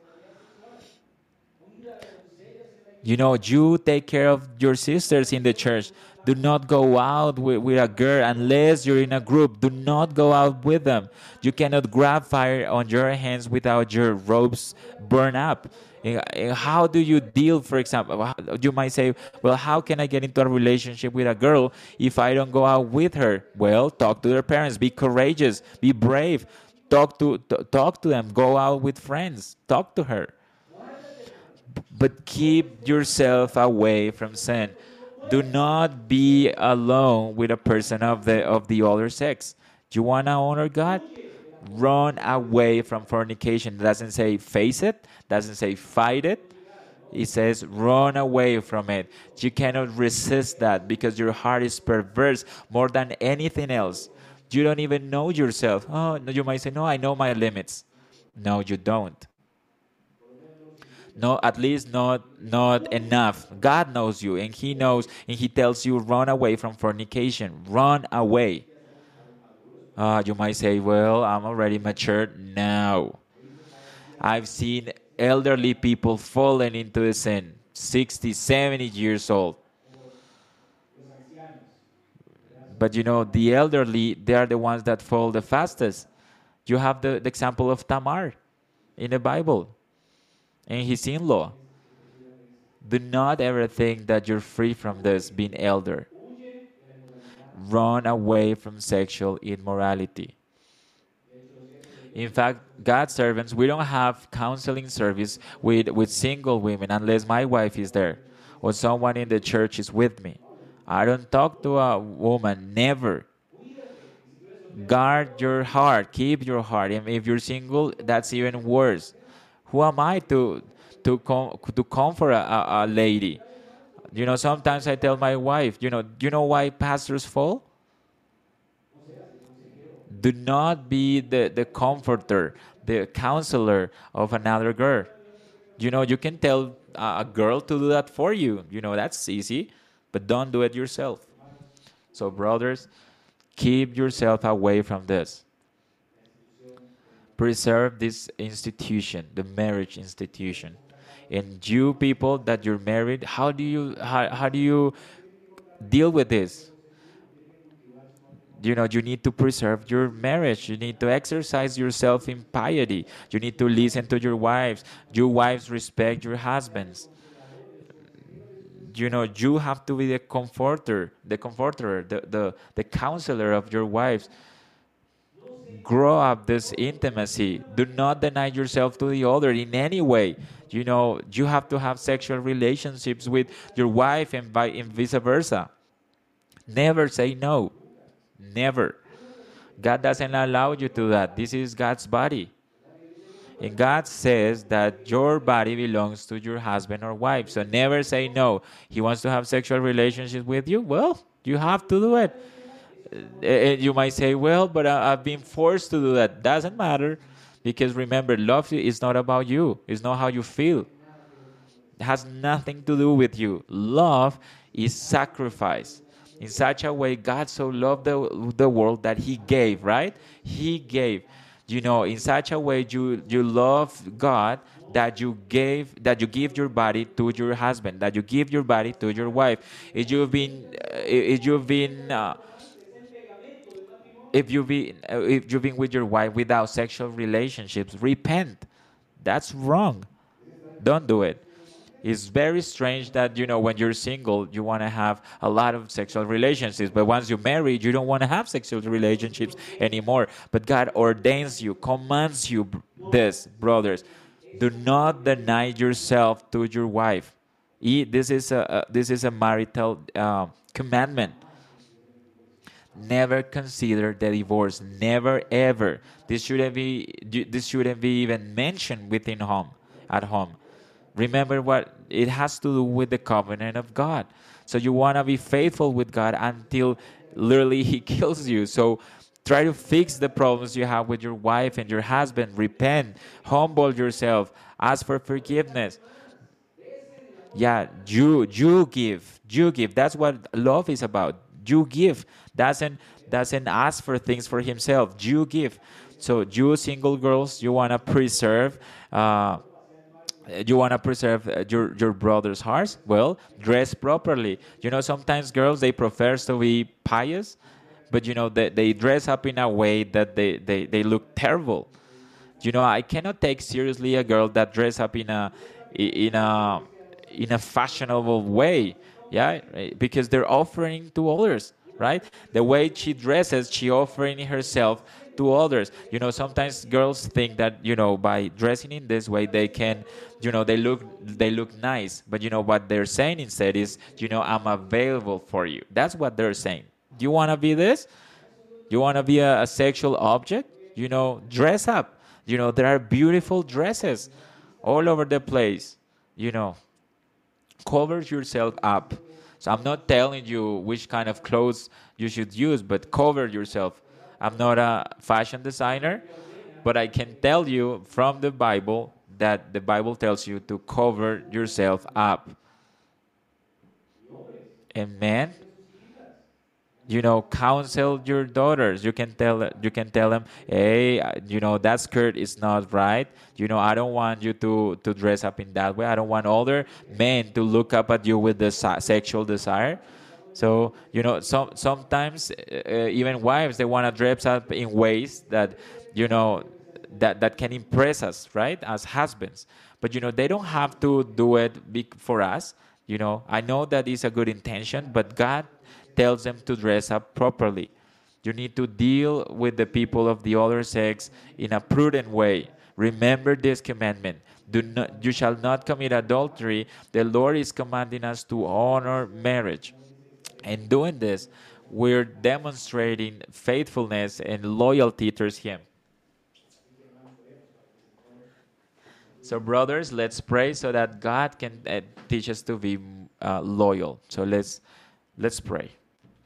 You take care of your sisters in the church. Do not go out with a girl unless you're in a group. Do not go out with them. You cannot grab fire on your hands without your robes burn up. How do you deal, for example? You might say, well, how can I get into a relationship with a girl if I don't go out with her? Well, talk to their parents. Be courageous. Be brave. Talk to them. Go out with friends. Talk to her. But keep yourself away from sin. Do not be alone with a person of the other sex. You want to honor God? Run away from fornication. It doesn't say face it, doesn't say fight it. It says run away from it. You cannot resist that because your heart is perverse more than anything else. You don't even know yourself. Oh, you might say, no, I know my limits. No, you don't. No, at least not enough. God knows you, and He knows, and He tells you, run away from fornication. Run away. You might say, well, I'm already mature. No. I've seen elderly people falling into the sin, 60, 70 years old. But the elderly, they are the ones that fall the fastest. You have the example of Tamar in the Bible and his in-law. Do not ever think that you're free from this being elder. Run away from sexual immorality. In fact, God's servants, we don't have counseling service with single women unless my wife is there or someone in the church is with me. I don't talk to a woman, never. Guard your heart, keep your heart. And if you're single, that's even worse. Who am I to comfort a lady? Sometimes I tell my wife, you know why pastors fall? Do not be the comforter, the counselor of another girl. You can tell a girl to do that for you. You know, that's easy, but don't do it yourself. So, brothers, keep yourself away from this. Preserve this institution, the marriage institution. And you people that you're married, how do you deal with this? You know, you need to preserve your marriage. You need to exercise yourself in piety. You need to listen to your wives. You wives respect your husbands. You know, you have to be the counselor of your wives. Grow up this intimacy. Do not deny yourself to the other in any way. You know, you have to have sexual relationships with your wife and vice versa. Never say no. Never. God doesn't allow you to do that. This is God's body. And God says that your body belongs to your husband or wife. So never say no. He wants to have sexual relationships with you. Well, you have to do it. And you might say, well, but I've been forced to do that. Doesn't matter. Because remember, love is not about you. It's not how you feel. It has nothing to do with you. Love is sacrifice. In such a way, God so loved the world that He gave, right? He gave. You know, in such a way, you love God that you give your body to your husband, that you give your body to your wife. If you've been with your wife without sexual relationships, repent. That's wrong. Don't do it. It's very strange that, you know, when you're single, you want to have a lot of sexual relationships, but once you marry, you don't want to have sexual relationships anymore. But God ordains you, commands you this, brothers. Do not deny yourself to your wife. This is a marital commandment. Never consider the divorce. Never ever. This shouldn't be even mentioned within home, at home. Remember what it has to do with the covenant of God. So you want to be faithful with God until literally He kills you. So try to fix the problems you have with your wife and your husband. Repent, humble yourself, ask for forgiveness. Yeah, you give. That's what love is about. You give. Doesn't ask for things for himself. You give. So you single girls, you want to preserve your brother's hearts. Well, dress properly. You know, sometimes girls, they prefer to be pious, but you know they dress up in a way that they look terrible. You know, I cannot take seriously a girl that dress up in a in a fashionable way. Yeah, right? Because they're offering to others, right? The way she dresses, she offering herself to others. You know, sometimes girls think that, you know, by dressing in this way they can, you know, they look nice. But you know what they're saying instead is, you know, I'm available for you. That's what they're saying. Do you want to be this? You want to be a sexual object? You know, dress up. You know, there are beautiful dresses all over the place. You know, cover yourself up. So I'm not telling you which kind of clothes you should use, but cover yourself. I'm not a fashion designer, but I can tell you from the Bible that the Bible tells you to cover yourself up. Amen. You know, counsel your daughters. You can tell them, hey, you know, that skirt is not right. You know, I don't want you to dress up in that way. I don't want other men to look up at you with the sexual desire. So you know, sometimes even wives, they want to dress up in ways that, you know, that can impress us, right, as husbands. But you know, they don't have to do it for us. You know, I know that is a good intention, but God tells them to dress up properly. You need to deal with the people of the other sex in a prudent way. Remember this commandment. You shall not commit adultery. The Lord is commanding us to honor marriage. And doing this, we're demonstrating faithfulness and loyalty towards Him. So, brothers, let's pray so that God can teach us to be loyal. So let's pray.